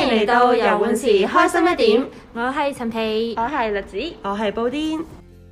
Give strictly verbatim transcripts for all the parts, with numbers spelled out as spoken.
嚟到遊玩時開心一點，我係陳皮， 我係栗子， 我係布丁。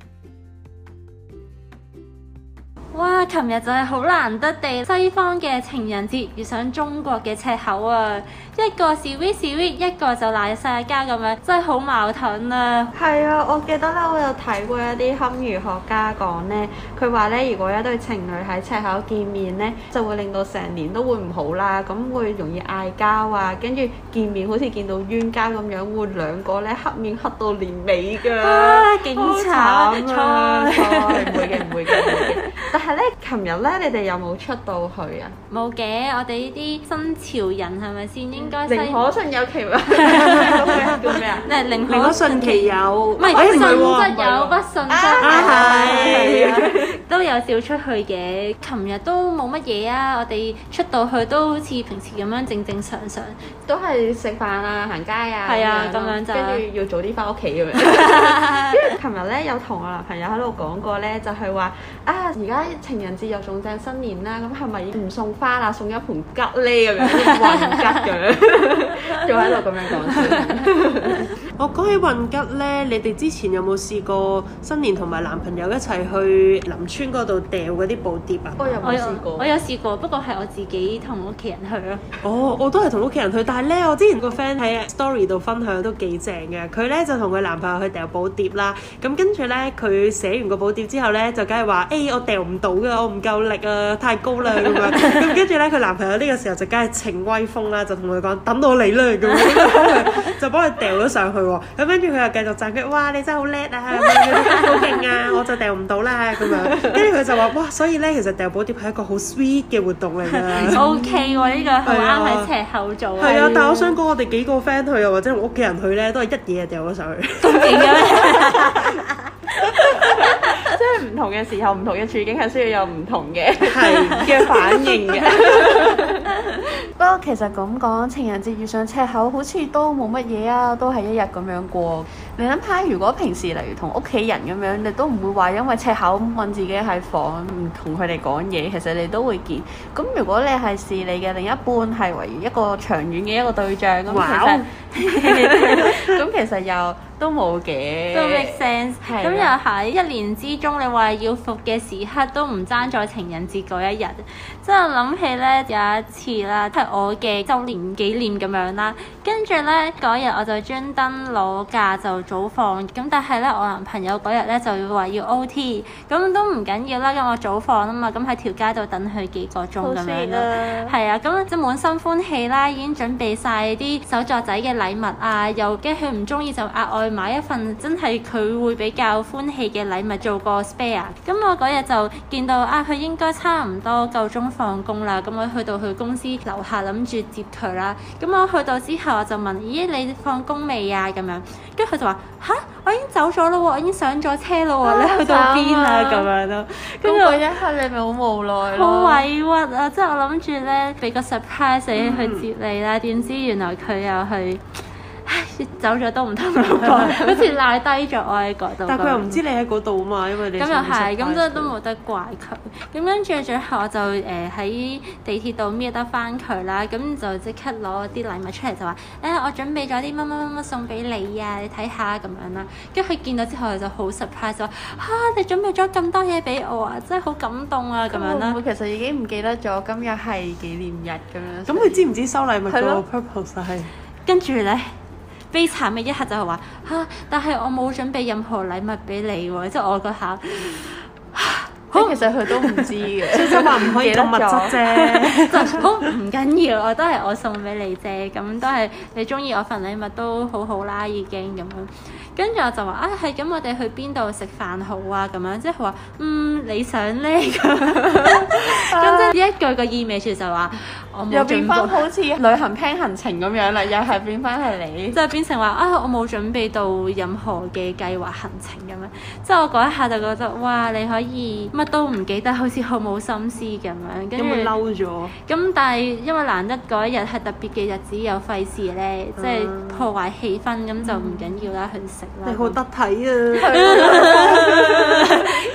哇！琴日就係好難得地，西方嘅情人節遇上中國嘅赤口啊！一個 sweet sweet， 一個就賴晒交咁樣，真係好矛盾啊！ 係啊，我記得咧，我有睇過一啲堪輿學家講咧，佢話咧，如果一對情侶喺赤口見面咧，就會令到成年都會唔好啦，咁會容易嗌交啊，跟住見面好似見到冤家咁樣，會兩個咧黑面黑到年尾㗎， 啊，勁慘啊！唔會嘅，唔會嘅，唔會嘅。但係咧，琴日咧，你哋有冇出到去啊？ 冇嘅，我哋呢啲新潮人係咪先應該？ 寧可信有其話，叫咩啊？ 寧寧可信其有， 唔係信則有，不信則係都有少出去嘅。琴日都冇乜嘢啊，我哋出到去都好似平時咁樣正正常常， 都係食飯啊、行街啊， 係啊，咁樣就跟住要早啲翻屋企咁樣。跟住琴日咧有同我男朋友喺度講過咧，就係話啊，而家情人節又仲正新年啦，咁係咪唔送花啦，送一盆桔咧咁樣，運桔咁樣，仲喺度咁樣講先。 我講起運桔咧，你哋之前有冇試過新年同埋男朋友一齊去林村嗰度掉嗰啲寶牒啊？ 我有冇試過？ 我有試過，不過係我自己同屋企人去咯。 哦，我都係同屋企人去，但係咧，我之前個 friend 喺 story 度分享都幾正嘅。佢咧就同佢男朋友去掉寶牒啦。咁跟住咧，佢寫完個寶牒之後咧，就梗係話：誒，我掉唔到㗎，我唔夠力啊，太高啦咁樣。咁跟住咧，佢男朋友呢個時候就梗係逞威風啦，就同佢講：等我嚟啦咁樣，就幫佢掉咗上去。咁跟住佢又繼續讚佢，哇！你真係好叻啊，好勁啊！我就掉唔到啦咁樣。跟住佢就話：哇！所以咧，其實掉寶牒係一個好 sweet 嘅活動嚟㗎。 O K 喎，呢個好啱喺赤口做。 係啊，但係我想講，我哋幾個 friend 去啊，或者屋企人去咧，都係一嘢掉咗上去。 咁勁嘅咩？ 即係唔同嘅時候，唔同嘅處境係需要有唔同嘅係嘅反應嘅。不過其實咁講，情人節遇上赤口好似都冇乜嘢啊，都係一日咁樣過。你諗下，如果平時例如同屋企人咁樣，你都唔會話因為赤口問自己喺房唔同佢哋講嘢，其實你都會見。咁如果你係視你嘅另一半係為一個長遠嘅一個對象，咁其實咁其實又都冇嘅， 都 make sense。咁的又喺一年之中，你話要復嘅時刻都唔爭在情人節嗰一日。即係我諗起咧有一次啦，係我嘅週年紀念咁樣啦。跟住咧嗰日我就專登攞假就早放，咁但係咧我男朋友嗰日咧就話要 O T， 咁都唔緊要啦，咁我早放啊嘛，咁喺條街度等佢幾個鐘咁樣咯。係啊，咁即係滿心歡喜啦，已經準備晒啲手作仔嘅禮物啊，又驚佢唔中意就額外買一份真係佢會比較歡喜嘅禮物做個 spare。咁我嗰日就見到啊，佢應該差唔多夠鐘放工啦，咁我去到佢公司樓下諗住接佢啦。咁我去到之後我就問：咦，你放工未啊？咁樣，跟住佢就話：吓，我已經走咗咯喎，我已經上咗車咯喎，啊、你去到邊啊？咁樣咯。跟住嗰一刻你咪好無奈咯， 好委屈啊！即係我諗住咧俾個 surprise 你去接你啦，點、嗯、知原來佢又去。走咗都唔同我講，好似賴低咗我喺嗰度。 但係佢又唔知你喺嗰度嘛，因為你咁又係，咁即係都冇得怪佢。咁跟住最後我就誒喺、呃、地鐵度搣得翻佢啦，咁就即刻攞啲禮物出嚟就話：誒、欸、我準備咗啲乜乜乜乜送俾你啊，你睇下咁樣啦。跟住佢見到之後就好 surprise 話：嚇、啊、你準備咗咁多嘢俾我啊，真係好感動啊咁樣啦。 佢其實已經唔記得咗今日係紀念日咁樣。 咁佢知唔知收禮物個 purpose 係？ 跟住咧。悲慘嘅一刻就係話嚇，但係我冇準備任何禮物俾你喎，即係我嗰下， 好其實佢都唔知嘅， 即係話唔可以咁物質啫， 就好唔緊要，我都係我送俾你啫，咁都係你中意我份禮物都好好啦，已經咁樣。跟住我就話啊，係咁，我哋去邊度食飯好啊？咁樣即係佢話嗯，你想咧咁，咁即係呢一句個意味住就話我冇準備， 又變翻好似旅行 plan 行程咁樣啦，又係變翻係你， 即係變成話啊，我冇準備到任何嘅計劃行程咁樣。即係我嗰一下就覺得哇，你可以乜都唔記得，好似好冇心思咁樣。跟住嬲咗。咁但係因為難得嗰一日係特別嘅日子，又費事咧，即係破壞氣氛，咁、嗯、就唔緊要啦，去食。 你好得體啊！ 咁跟住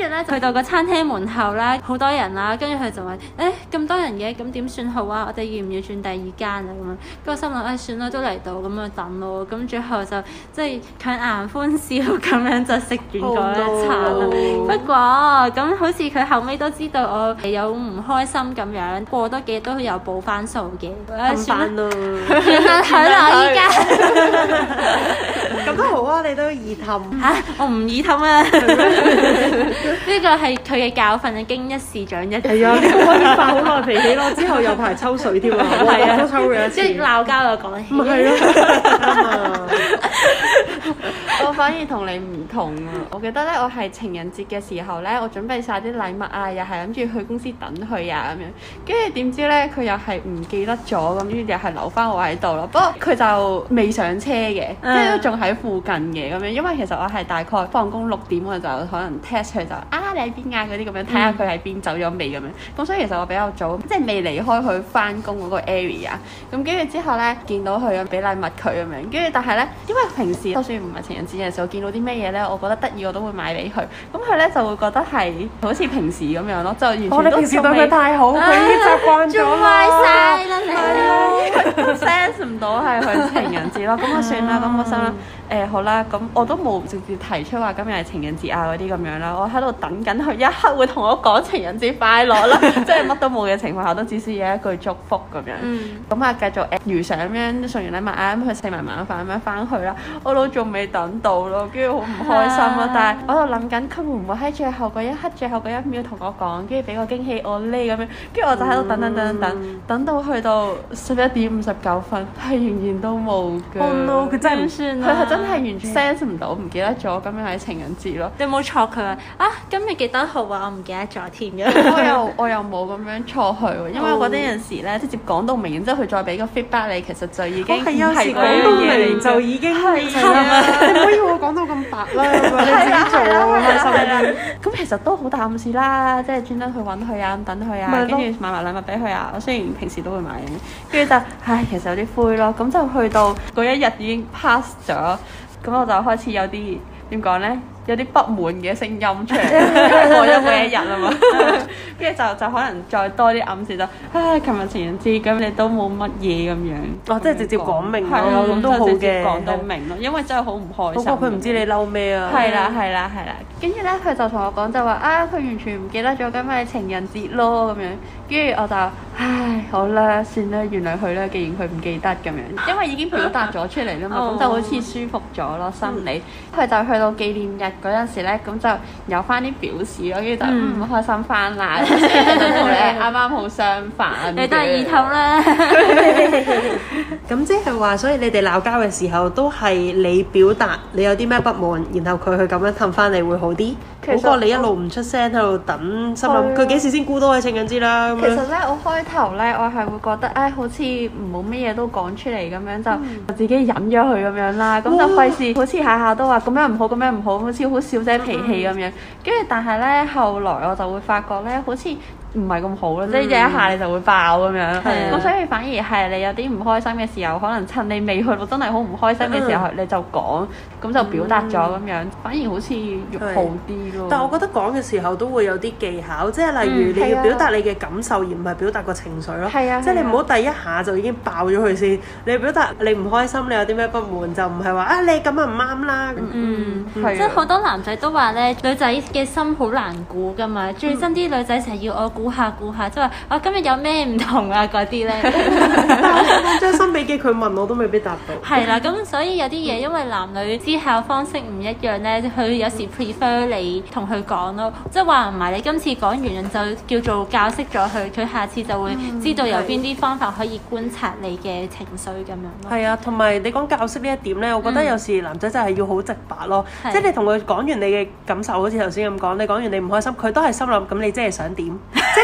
咧去到個餐廳門口啦，好多人啦，跟住佢就話：誒咁多人嘅，咁點算好啊？我哋要唔要轉第二間啊？咁樣，跟住我心諗：誒、哎、算啦，都嚟到，咁就等咯。咁最後就即係強顏歡笑咁樣就食完嗰一餐啦。Oh, no. 不過咁好似佢後尾都知道我有唔開心咁樣，過多幾日都有補翻數嘅。算啦，算啦，係啦，依家咁都好啊，你都易氹嚇，我唔易氹啊。呢個係佢嘅教訓，經一事長一智。 係啊，呢個可以發好耐脾氣咯，之後有排抽水添啊，係啊，都抽咗一次。 即係鬧交就講起。 咪係咯。 我反而同你唔同啊！我記得咧，我係情人節嘅時候咧，我準備晒啲禮物啊，又係諗住去公司等佢啊咁樣。跟住點知咧，佢又係唔記得咗咁，跟住又係留翻我喺度咯。不過佢就未上車嘅，即係都仲喺附近嘅咁樣。因為其實我係大概放工六點，我就可能 test 佢就啊你喺邊啊嗰啲咁樣，睇下佢喺邊走咗未咁樣。咁所以其實我比較早，即係未離開佢翻工嗰個 area。咁跟住之後咧，見到佢咁俾禮物佢咁樣，跟住但係咧，因為平時就算唔係情人節嘅時候，見到啲咩嘢咧，我覺得得意我都會買俾佢。咁佢咧就會覺得係好似平時咁樣咯，就完全都、哦、你平時對佢太好，佢、啊、已經習慣咗啦。做曬啦你，都 sense 唔到係佢情人節咯。咁我算啦，咁我心諗。誒、欸、好啦，咁我都冇直接提出話今日係情人節啊嗰啲咁樣啦，我喺度等緊佢一刻會同我講情人節快樂啦，即係乜都冇嘅情況下都只需要一句祝福咁樣。咁啊、嗯、繼續誒如常咁樣送完禮物啊，咁佢食埋晚飯咁樣翻去啦，我都仲未等到咯，跟住好唔開心咯。啊、但係我喺度諗緊佢會唔會喺最後嗰一刻、最後嗰一秒同我講，跟住俾個驚喜我呢咁樣，跟住我就喺度等等等等等，嗯、等到去到十一點五十九分，係仍然都冇嘅。Oh no！ 佢真係唔算啦。真係完全 sense 唔到，唔記得咗今日係情人節咯。 你有冇錯佢啊？啊，今日幾多號啊？我唔記得咗添嘅。 我又我又冇咁樣錯佢喎，因為我覺得有陣時咧，直接講到明，然之後佢再俾個 feedback 你，其實就已經係有時講到明就已經係啦。 你唔可以我講到咁白啦，你自己做啊，開心啲。 咁其實都好大暗示啦，即係專登去揾佢啊，等佢啊，跟住買埋禮物俾佢啊。我雖然平時都會買嘅，跟住就唉，其實有啲灰咯。咁就去到嗰一日已經 pass 咗。咁我就開始有啲點講咧，有啲不滿嘅聲音出嚟，過咗嗰一日啊嘛，跟住就就可能再多啲暗示就，唉，琴日情人節咁你都冇乜嘢咁樣， 哦，即係直接講明咯，咁都好嘅，講到明咯， 因為真係好唔開心。 不過佢唔知你嬲咩啊？ 係啦係啦係啦，跟住咧佢就同我講就話啊，佢完全唔記得咗今日係情人節咯咁樣，跟住我就唉好啦，算啦，原諒佢啦，既然佢唔記得咁樣，因為已經表達咗出嚟啦嘛，咁就好似舒服咗咯心理。佢就去到紀念日嗰陣時咧，咁就有翻啲表示咯，跟住就唔開心翻啦。同你啱啱好相反， 你都係二頭啦。 咁即係話，所以你哋鬧交嘅時候，都係你表達你有啲咩不滿，然後佢去咁樣氹翻你會好啲，好過你一路唔出聲喺度等，心諗佢幾時先估到係情人節啦。 其實咧，我開頭咧，我係會覺得，唉，好似唔冇乜嘢都講出嚟咁樣，就自己忍咗佢咁樣啦。咁就費事好似下下都話咁樣唔好，咁樣唔好，好似好小姐脾氣咁樣。跟住但係咧，後來我就會發覺咧，好似唔係咁好咯，嗯、即係一下你就會爆咁樣。咁、嗯、所以反而係你有啲唔開心嘅時候，可能趁你未去到真係好唔開心嘅時候，嗯、你就講，咁就表達咗咁樣，嗯、反而好似越好啲咯。 但係我覺得講嘅時候都會有啲技巧，即係例如你要表達你嘅感受，嗯、而唔係表達個情緒咯。係啊，即係你唔好第一下就已經爆咗佢先。你表達你唔開心，你有啲咩不滿，就唔係話啊你咁啊唔啱啦。 嗯，即係好多男仔都話咧，女仔嘅心好難估㗎嘛。最憎啲女仔成日要我估下估下，即係話我今日有咩唔同啊嗰啲咧。 我將心比己，佢問我都未必答到。 係啦，咁所以有啲嘢因為男女思考方式唔一樣咧，佢有時 prefer 你同佢講咯，即係話唔埋你今次講完就叫做教識咗佢，佢下次就會知道有邊啲方法可以觀察你嘅情緒咁樣咯。 係啊，同埋你講教識呢一點咧，我覺得有時男仔真係要好直白咯，嗯、即係你同佢講完你嘅感受，好似頭先咁講，你講完你唔開心，佢都係心諗咁你即係想點？即係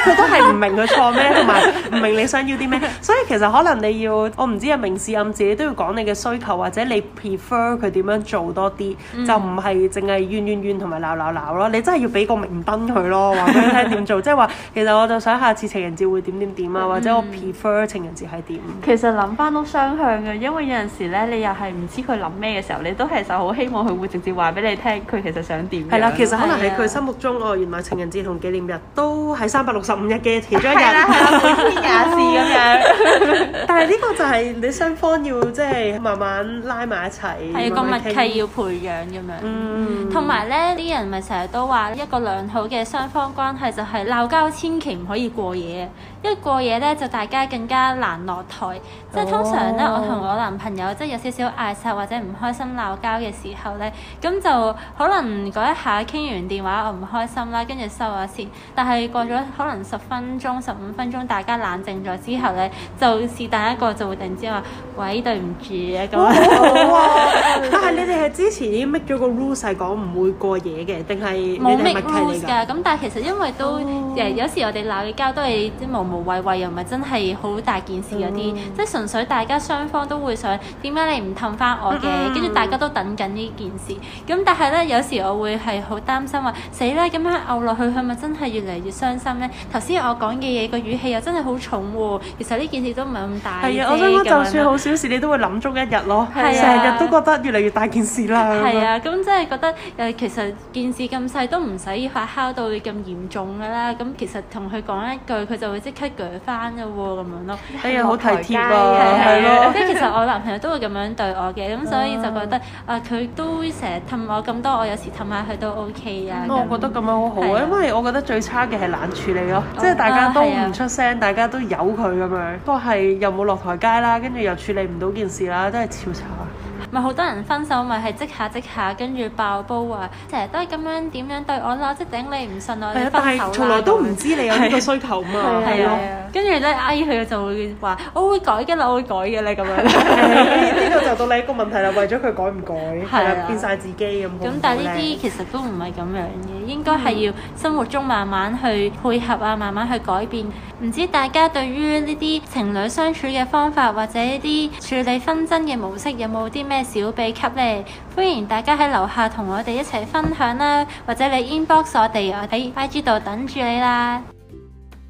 係佢都係唔明佢錯咩，同埋唔明你想要啲咩。所以其實可能你要，我唔知啊，明示暗示你都要講你嘅需求，或者你 prefer 佢點樣做多啲，嗯、就唔係淨係怨怨怨同埋鬧鬧鬧咯。你真係要俾個明燈佢咯，話俾佢聽點做。即係話其實我就想下次情人節會點點點啊，或者我 prefer 情人節係點。 其實諗翻都雙向嘅，因為有陣時咧，你又係唔知佢諗咩嘅時候，你都其實好希望佢會直接話俾你聽，佢其實想點。 係啦，其實可能喺佢心目中，哦，原來情人節同紀念日都係三百六十五日嘅其中一日， 係啦，係啦，每天廿事咁樣。 但係呢個就係你雙方要即係慢慢拉埋一齊， 係個默契要培養咁樣。嗯，同埋咧，啲人咪成日都話一個良好嘅雙方關係就係鬧交千祈唔可以過夜，因為過夜咧就大家更加難落台。即係通常咧，我同我男朋友即係有少少嗌殺或者唔開心鬧交嘅時候咧，咁就可能嗰一下傾完電話我唔開心啦，跟住收咗線。但係過咗可能十分鐘、十五分鐘，大家冷靜咗之後咧，就是但一個就會突然之間話：喂，對唔住啊咁。 好啊！但係你哋係之前已經 make 咗個 rules 係講唔會過夜嘅，定係冇 make rules 㗎？咁但係其實因為都誒、oh. 有時我哋鬧嘅交都係啲無無謂謂，又唔係真係好大件事嗰啲，即係、mm. 純粹大家雙方都會想點解你唔氹翻我嘅，跟住、mm. 大家都等緊呢件事。咁但係咧，有時我會係好擔心話死啦，咁樣拗落去，係咪真係越嚟越傷心咧？頭先我講嘅嘢個語氣又真係好重喎。其實呢件事都唔係咁大。係啊， 我想講就算好小事，你都會諗足一日咯。成日、啊、都覺得越嚟越大件事啦。 係啊，咁真係覺得誒，其實件事咁細都唔使發酵到咁嚴重㗎啦。咁其實同佢講一句，佢就會即刻鋸翻㗎喎，咁樣咯。 哎呀，好體貼啊，係咯。 即係其實我男朋友都會咁樣對我嘅，咁所以就覺得啊，佢都成日氹我咁多，我有時氹下佢都 OK 啊。 我覺得咁樣好好啊，因為我覺得最差嘅係冷處理咯，即係大家都唔出聲，大家都由佢咁樣，不過係又冇落台階啦，跟住又處理唔到件事啦，都係超差。 咪好多人分手咪係即下即下，跟住爆煲啊！成日都係咁樣點樣對我啦，即係頂你唔順我哋分手啦。但係從來都唔知你有呢個需求嘛。係啊，跟住咧，哎佢就會話：我會改嘅啦，我會改嘅咧咁樣。 呢個就到你一個問題啦，為咗佢改唔改，係啊，變晒自己咁。 咁但係呢啲其實都唔係咁樣嘅，應該係要生活中慢慢去配合啊，慢慢去改變。唔知大家對於呢啲情侶相處嘅方法或者呢啲處理紛爭嘅模式有冇啲咩小秘笈呢？歡迎大家喺樓下同我哋一齊分享啦，或者你 inbox 我哋，我喺 I G 度等住你啦。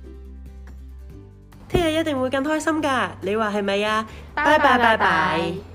聽日一定會更開心㗎，你話係咪啊？拜拜拜拜。